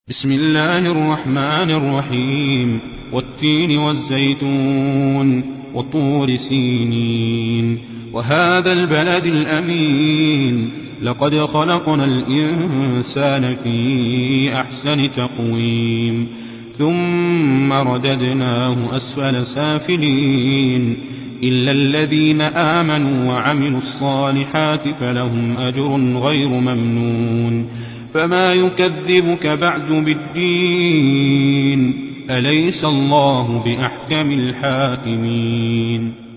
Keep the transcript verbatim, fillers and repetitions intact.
بسم الله الرحمن الرحيم والتين والزيتون وطور سينين وهذا البلد الأمين لقد خلقنا الإنسان في أحسن تقويم ثم رددناه أسفل سافلين إلا الذين آمنوا وعملوا الصالحات فلهم أجر غير ممنون فما يكذبك بعد بالدين أليس الله بأحكم الحاكمين.